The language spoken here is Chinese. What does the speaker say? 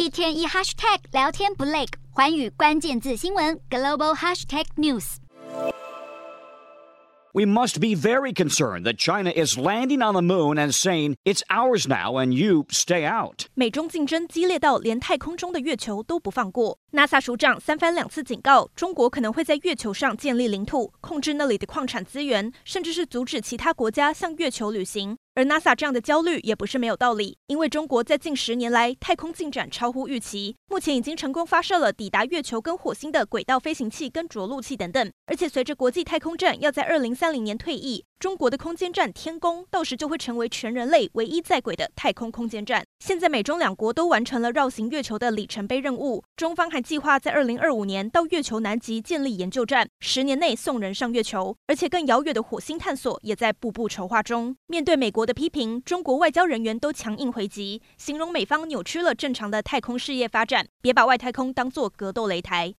一天一 hashtag 聊天不累，寰宇關鍵字新聞 Global Hashtag News。 We must be very concerned that China is landing on the moon and saying it's ours now and you stay out. 美中競爭激烈到連太空中的月球都不放過。NASA 署長三番兩次警告，中國可能會在月球上建立領土，控制那裡的礦產資源，甚至是阻止其他國家向月球旅行。而 NASA 這樣的焦慮也不是沒有道理，因為中國在近10年來太空進展超乎預期，目前已經成功發射了抵達月球跟火星的軌道飛行器跟着陸器等等。而且隨着國際太空站要在2030年退役，中國的空間站天宮到時就會成為全人類唯一在軌的太空空間站。現在美中兩國都完成了繞行月球的里程碑任務，中方還計劃在2025年到月球南極建立研究站，10年內送人上月球，而且更遙遠的火星探索也在步步籌劃中。面對美國的批評，中國外交人員都強硬回擊，形容美方扭曲了正常的太空事業發展，別把外太空當作格鬥擂台。